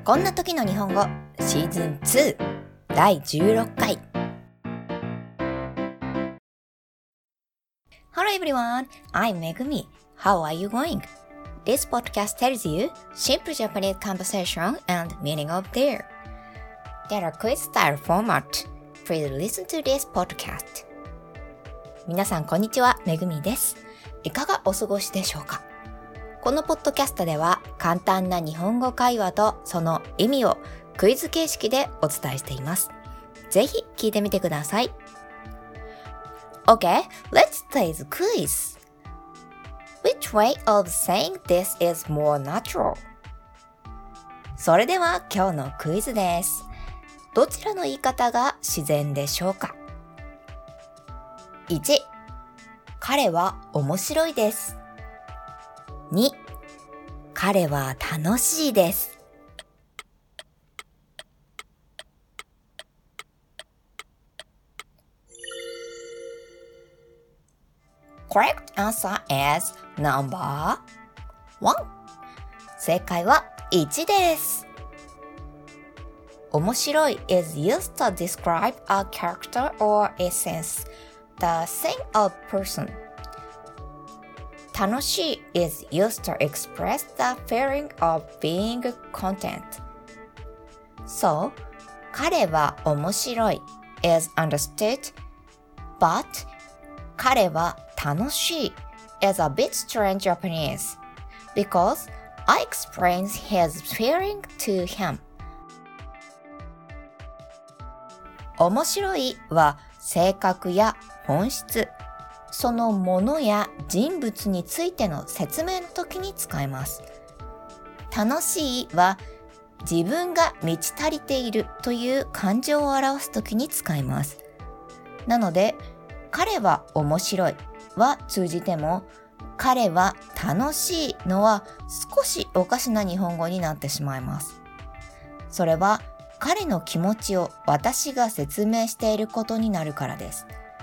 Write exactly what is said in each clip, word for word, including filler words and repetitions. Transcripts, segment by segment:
こんな時の日本語シーズンツーだいじゅうろっかい。 Hello everyone, I'm Megumi. How are you going? This podcast tells you simple Japanese conversation and meaning of there. There are quiz style format. Please listen to this podcast. 皆さんこんにちは、めぐみです。いかがお過ごしでしょうか？このポッドキャストでは簡単な日本語会話とその意味をクイズ形式でお伝えしています。ぜひ聞いてみてください。Okay, let's play the quiz. Which way of saying this is more natural? それでは今日のクイズです。どちらの言い方が自然でしょうか？いち、彼は面白いです。に、彼は楽しいです。Correct answer is number one. 正解はいちです。面白い is used to describe a character or essence, the thing of person. 楽しい is used to express the feeling of being content. So, 彼は面白い is understood, but 彼は楽しい is a bit strange Japanese because I explained his feeling to him. 面白いは性格や本質、そのものや人物についての説明の時に使います。楽しいは自分が満ち足りているという感情を表す時に使います。なので、彼は面白いは通じても、彼は楽しいのは少しおかしな日本語になってしまいます。それは彼の気持ちを私が説明していることになるからです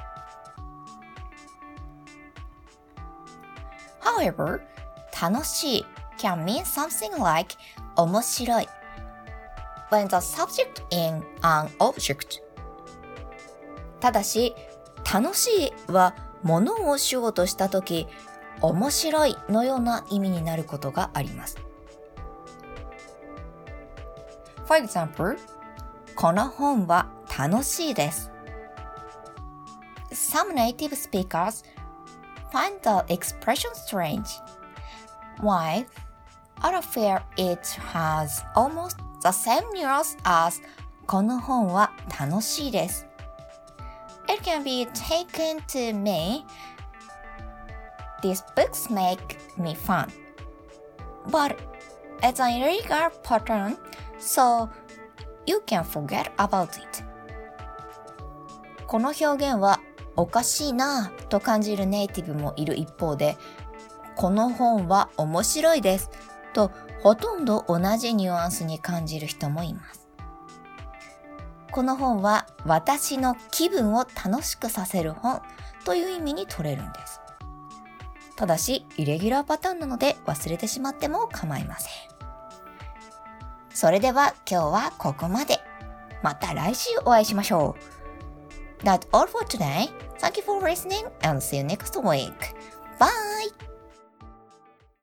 。However, 楽しい can mean something like 面白い when the subject in an object. ただし、楽しいは物をしようとしたとき、面白いのような意味になることがあります。For example, この本は楽しいです。Some native speakers find the expression strange, while others feel it has almost the same nuance as この本は楽しいです。It can be taken to mean these books make me fun, but it's an irregular pattern, so you can forget about it. この表現はおかしいなぁと感じるネイティブもいる一方で、この本は面白いですとほとんど同じニュアンスに感じる人もいます。この本は私の気分を楽しくさせる本という意味に取れるんです。ただし、イレギュラーパターンなので忘れてしまっても構いません。それでは今日はここまで。また来週お会いしましょう。That's all for today. Thank you for listening and see you next week. Bye!